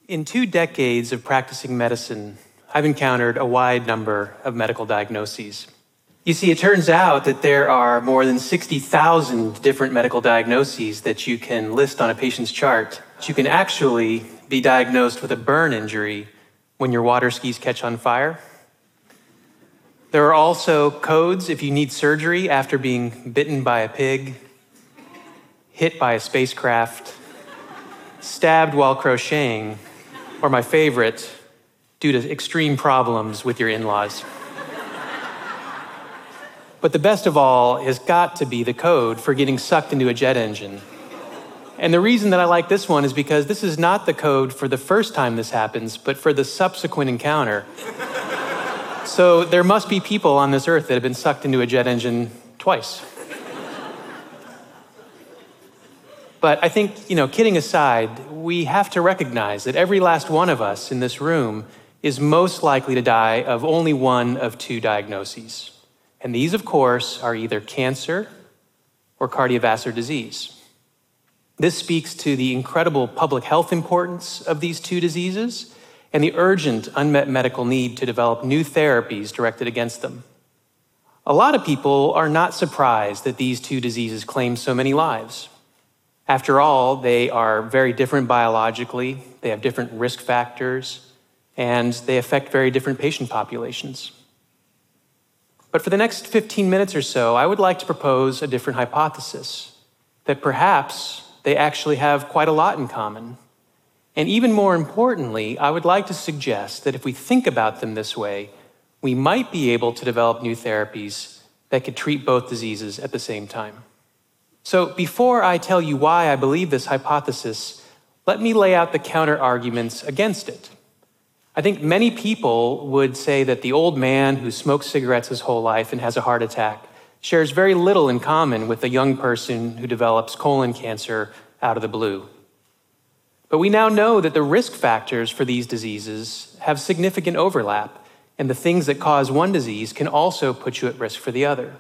In 2 decades of practicing medicine, I've encountered a wide number of medical diagnoses. You see, it turns out that there are more than 60,000 different medical diagnoses that you can list on a patient's chart. You can actually be diagnosed with a burn injury when your water skis catch on fire. There are also codes if you need surgery after being bitten by a pig, hit by a spacecraft, stabbed while crocheting, or my favorite, due to extreme problems with your in-laws. But the best of all has got to be the code for getting sucked into a jet engine. And the reason that I like this one is because this is not the code for the first time this happens, but for the subsequent encounter. So there must be people on this earth that have been sucked into a jet engine twice. But I think, kidding aside, we have to recognize that every last one of us in this room is most likely to die of only one of 2 diagnoses. And these, of course, are either cancer or cardiovascular disease. This speaks to the incredible public health importance of these 2 diseases and the urgent unmet medical need to develop new therapies directed against them. A lot of people are not surprised that these 2 diseases claim so many lives. After all, they are very different biologically, they have different risk factors, and they affect very different patient populations. But for the next 15 minutes or so, I would like to propose a different hypothesis, that perhaps they actually have quite a lot in common. And even more importantly, I would like to suggest that if we think about them this way, we might be able to develop new therapies that could treat both diseases at the same time. So before I tell you why I believe this hypothesis, let me lay out the counter-arguments against it. I think many people would say that the old man who smoked cigarettes his whole life and has a heart attack shares very little in common with the young person who develops colon cancer out of the blue. But we now know that the risk factors for these diseases have significant overlap, and the things that cause one disease can also put you at risk for the other.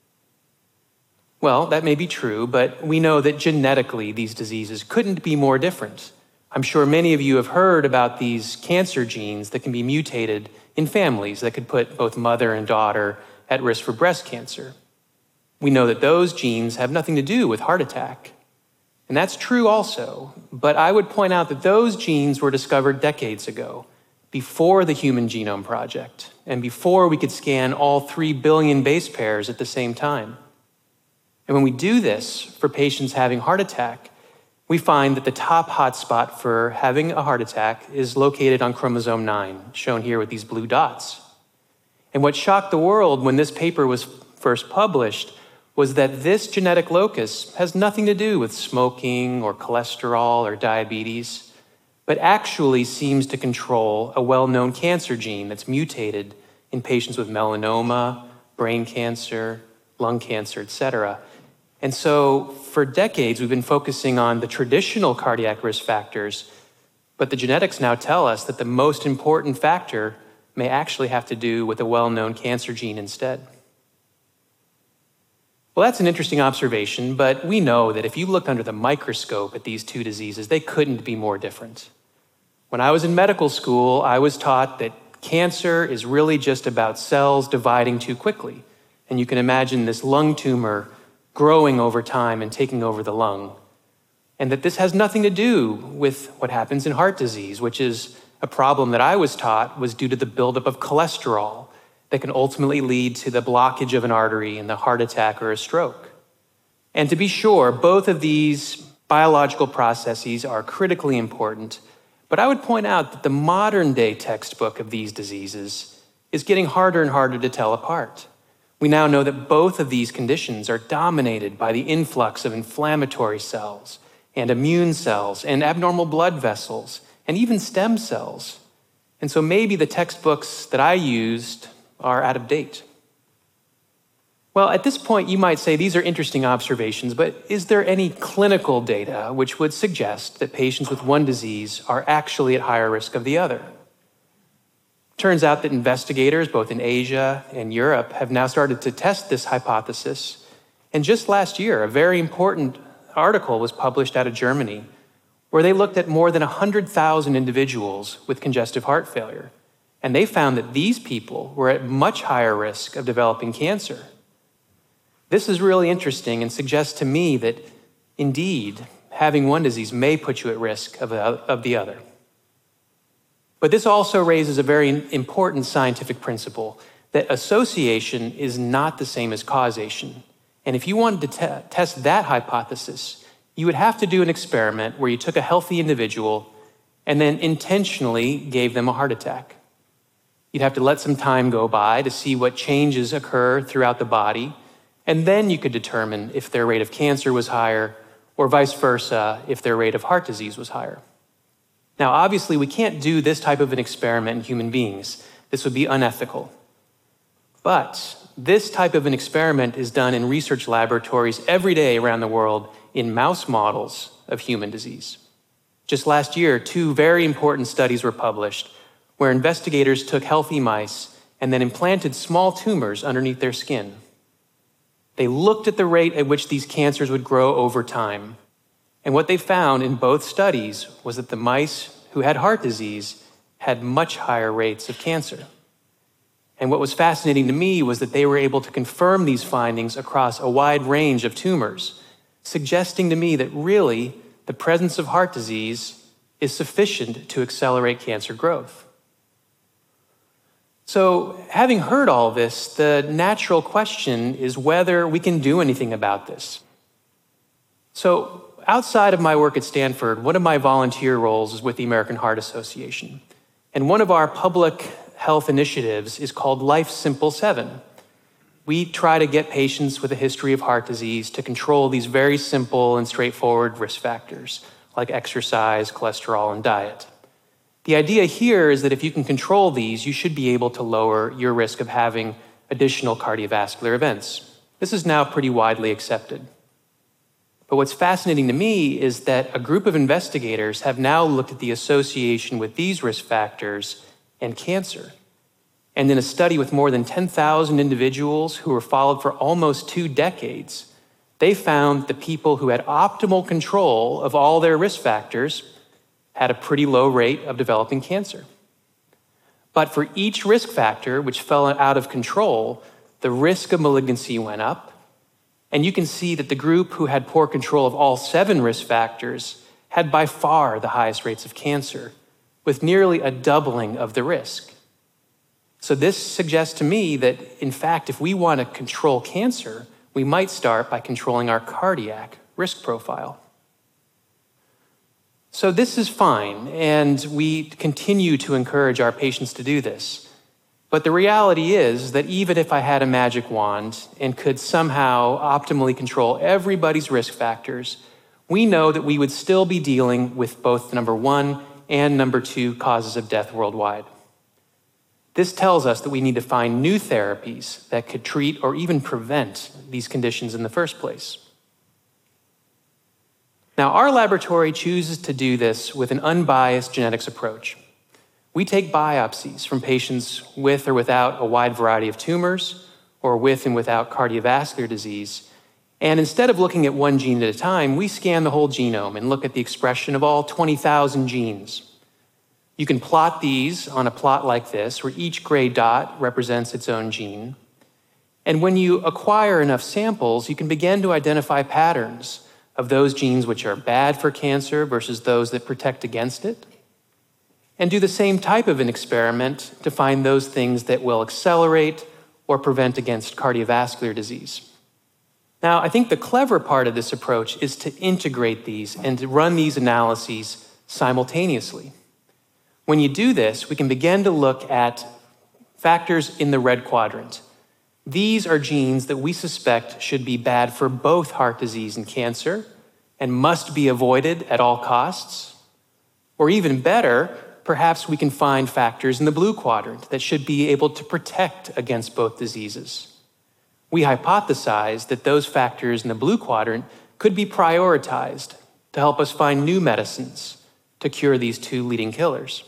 Well, that may be true, but we know that genetically these diseases couldn't be more different. I'm sure many of you have heard about these cancer genes that can be mutated in families that could put both mother and daughter at risk for breast cancer. We know that those genes have nothing to do with heart attack. And that's true also, but I would point out that those genes were discovered decades ago, before the Human Genome Project, and before we could scan all 3 billion base pairs at the same time. And when we do this for patients having heart attack, we find that the top hotspot for having a heart attack is located on chromosome 9, shown here with these blue dots. And what shocked the world when this paper was first published was that this genetic locus has nothing to do with smoking or cholesterol or diabetes, but actually seems to control a well-known cancer gene that's mutated in patients with melanoma, brain cancer, lung cancer, etc. And so for decades, we've been focusing on the traditional cardiac risk factors, but the genetics now tell us that the most important factor may actually have to do with a well-known cancer gene instead. Well, that's an interesting observation, but we know that if you look under the microscope at these 2 diseases, they couldn't be more different. When I was in medical school, I was taught that cancer is really just about cells dividing too quickly. And you can imagine this lung tumor growing over time and taking over the lung. And that this has nothing to do with what happens in heart disease, which is a problem that I was taught was due to the buildup of cholesterol that can ultimately lead to the blockage of an artery and the heart attack or a stroke. And to be sure, both of these biological processes are critically important, but I would point out that the modern day textbook of these diseases is getting harder and harder to tell apart. We now know that both of these conditions are dominated by the influx of inflammatory cells and immune cells and abnormal blood vessels and even stem cells. And so maybe the textbooks that I used are out of date. Well, at this point, you might say these are interesting observations, but is there any clinical data which would suggest that patients with one disease are actually at higher risk of the other? Turns out that investigators, both in Asia and Europe, have now started to test this hypothesis. And just last year, a very important article was published out of Germany where they looked at more than 100,000 individuals with congestive heart failure. And they found that these people were at much higher risk of developing cancer. This is really interesting and suggests to me that, indeed, having one disease may put you at risk of the other. But this also raises a very important scientific principle that association is not the same as causation. And if you wanted to test that hypothesis, you would have to do an experiment where you took a healthy individual and then intentionally gave them a heart attack. You'd have to let some time go by to see what changes occur throughout the body, and then you could determine if their rate of cancer was higher, or vice versa, if their rate of heart disease was higher. Now, obviously, we can't do this type of an experiment in human beings. This would be unethical. But this type of an experiment is done in research laboratories every day around the world in mouse models of human disease. Just last year, 2 very important studies were published where investigators took healthy mice and then implanted small tumors underneath their skin. They looked at the rate at which these cancers would grow over time. And what they found in both studies was that the mice who had heart disease had much higher rates of cancer. And what was fascinating to me was that they were able to confirm these findings across a wide range of tumors, suggesting to me that really the presence of heart disease is sufficient to accelerate cancer growth. So, having heard all this, the natural question is whether we can do anything about this. So, outside of my work at Stanford, one of my volunteer roles is with the American Heart Association. And one of our public health initiatives is called Life Simple 7. We try to get patients with a history of heart disease to control these very simple and straightforward risk factors, like exercise, cholesterol, and diet. The idea here is that if you can control these, you should be able to lower your risk of having additional cardiovascular events. This is now pretty widely accepted. But what's fascinating to me is that a group of investigators have now looked at the association with these risk factors and cancer. And in a study with more than 10,000 individuals who were followed for almost 2 decades, they found the people who had optimal control of all their risk factors had a pretty low rate of developing cancer. But for each risk factor which fell out of control, the risk of malignancy went up. And you can see that the group who had poor control of all 7 risk factors had by far the highest rates of cancer, with nearly a doubling of the risk. So this suggests to me that, in fact, if we want to control cancer, we might start by controlling our cardiac risk profile. So this is fine, and we continue to encourage our patients to do this. But the reality is that even if I had a magic wand and could somehow optimally control everybody's risk factors, we know that we would still be dealing with both number 1 and number 2 causes of death worldwide. This tells us that we need to find new therapies that could treat or even prevent these conditions in the first place. Now, our laboratory chooses to do this with an unbiased genetics approach. We take biopsies from patients with or without a wide variety of tumors, or with and without cardiovascular disease. And instead of looking at one gene at a time, we scan the whole genome and look at the expression of all 20,000 genes. You can plot these on a plot like this, where each gray dot represents its own gene. And when you acquire enough samples, you can begin to identify patterns of those genes which are bad for cancer versus those that protect against it, and do the same type of an experiment to find those things that will accelerate or prevent against cardiovascular disease. Now, I think the clever part of this approach is to integrate these and to run these analyses simultaneously. When you do this, we can begin to look at factors in the red quadrant. These are genes that we suspect should be bad for both heart disease and cancer and must be avoided at all costs. Or even better, perhaps we can find factors in the blue quadrant that should be able to protect against both diseases. We hypothesize that those factors in the blue quadrant could be prioritized to help us find new medicines to cure these 2 leading killers.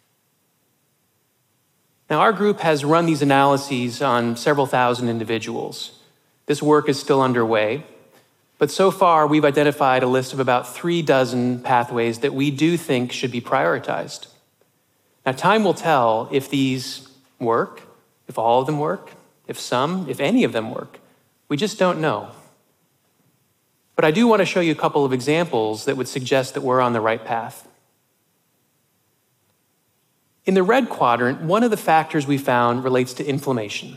Now, our group has run these analyses on several thousand individuals. This work is still underway. But so far, we've identified a list of about 36 pathways that we do think should be prioritized. Now, time will tell if these work, if all of them work, if any of them work. We just don't know. But I do want to show you a couple of examples that would suggest that we're on the right path. In the red quadrant, one of the factors we found relates to inflammation.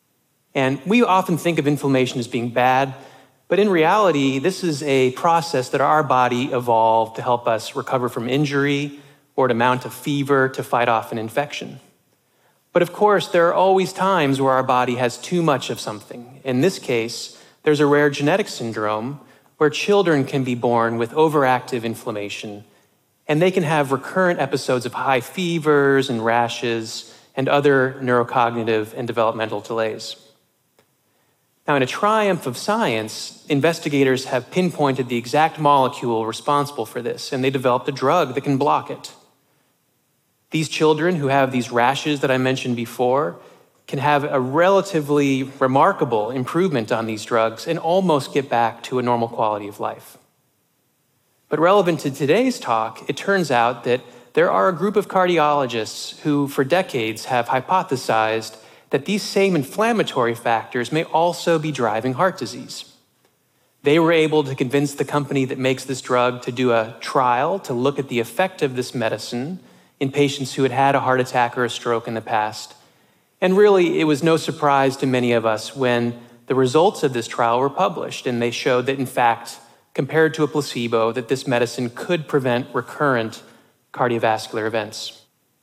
And we often think of inflammation as being bad, but in reality, this is a process that our body evolved to help us recover from injury or to mount a fever to fight off an infection. But of course, there are always times where our body has too much of something. In this case, there's a rare genetic syndrome where children can be born with overactive inflammation, and they can have recurrent episodes of high fevers and rashes and other neurocognitive and developmental delays. Now, in a triumph of science, investigators have pinpointed the exact molecule responsible for this, and they developed a drug that can block it. These children who have these rashes that I mentioned before can have a relatively remarkable improvement on these drugs and almost get back to a normal quality of life. But relevant to today's talk, it turns out that there are a group of cardiologists who, for decades, have hypothesized that these same inflammatory factors may also be driving heart disease. They were able to convince the company that makes this drug to do a trial to look at the effect of this medicine in patients who had had a heart attack or a stroke in the past. And really, it was no surprise to many of us when the results of this trial were published, and they showed that, in fact, compared to a placebo, that this medicine could prevent recurrent cardiovascular events.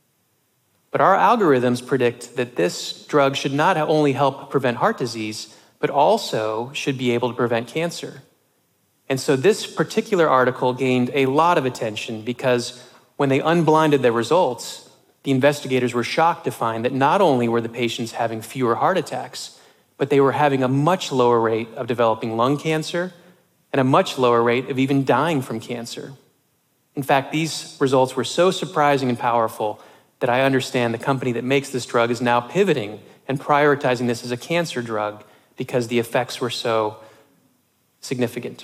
But our algorithms predict that this drug should not only help prevent heart disease, but also should be able to prevent cancer. And so this particular article gained a lot of attention because when they unblinded their results, the investigators were shocked to find that not only were the patients having fewer heart attacks, but they were having a much lower rate of developing lung cancer and a much lower rate of even dying from cancer. In fact, these results were so surprising and powerful that I understand the company that makes this drug is now pivoting and prioritizing this as a cancer drug because the effects were so significant.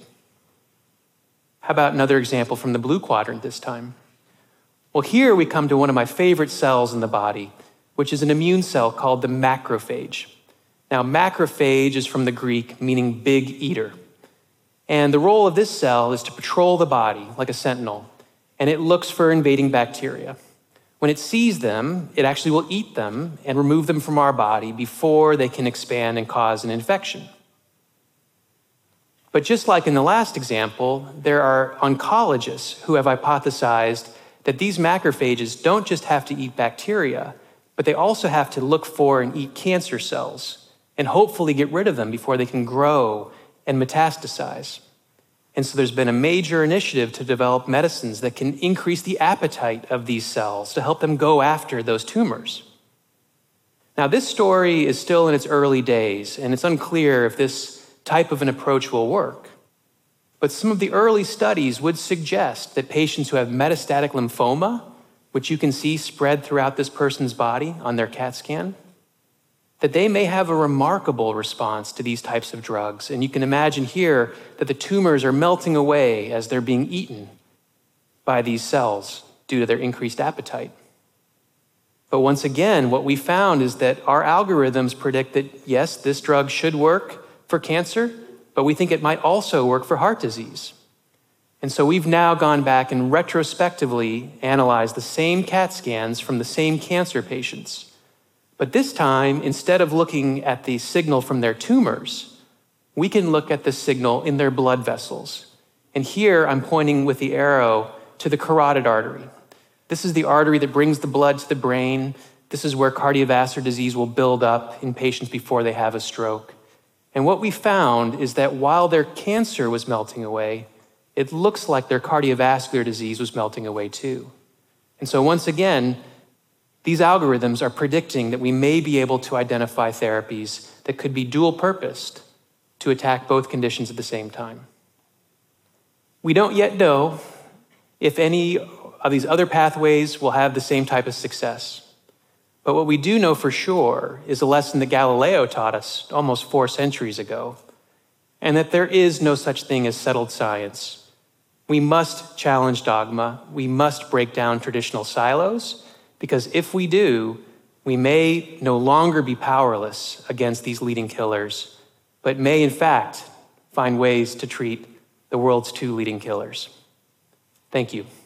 How about another example from the blue quadrant this time? Well, here we come to one of my favorite cells in the body, which is an immune cell called the macrophage. Now, macrophage is from the Greek, meaning big eater. And the role of this cell is to patrol the body like a sentinel, and it looks for invading bacteria. When it sees them, it actually will eat them and remove them from our body before they can expand and cause an infection. But just like in the last example, there are oncologists who have hypothesized that these macrophages don't just have to eat bacteria, but they also have to look for and eat cancer cells and hopefully get rid of them before they can grow and metastasize. And so there's been a major initiative to develop medicines that can increase the appetite of these cells to help them go after those tumors. Now, this story is still in its early days, and it's unclear if this type of an approach will work. But some of the early studies would suggest that patients who have metastatic lymphoma, which you can see spread throughout this person's body on their CAT scan, that they may have a remarkable response to these types of drugs. And you can imagine here that the tumors are melting away as they're being eaten by these cells due to their increased appetite. But once again, what we found is that our algorithms predict that, yes, this drug should work for cancer, but we think it might also work for heart disease. And so we've now gone back and retrospectively analyzed the same CAT scans from the same cancer patients. But this time, instead of looking at the signal from their tumors, we can look at the signal in their blood vessels. And here I'm pointing with the arrow to the carotid artery. This is the artery that brings the blood to the brain. This is where cardiovascular disease will build up in patients before they have a stroke. And what we found is that while their cancer was melting away, it looks like their cardiovascular disease was melting away too. And so once again, these algorithms are predicting that we may be able to identify therapies that could be dual-purposed to attack both conditions at the same time. We don't yet know if any of these other pathways will have the same type of success. But what we do know for sure is a lesson that Galileo taught us almost 4 centuries ago. and that there is no such thing as settled science. We must challenge dogma. We must break down traditional silos, because if we do, we may no longer be powerless against these leading killers, but may in fact find ways to treat the world's two leading killers. Thank you.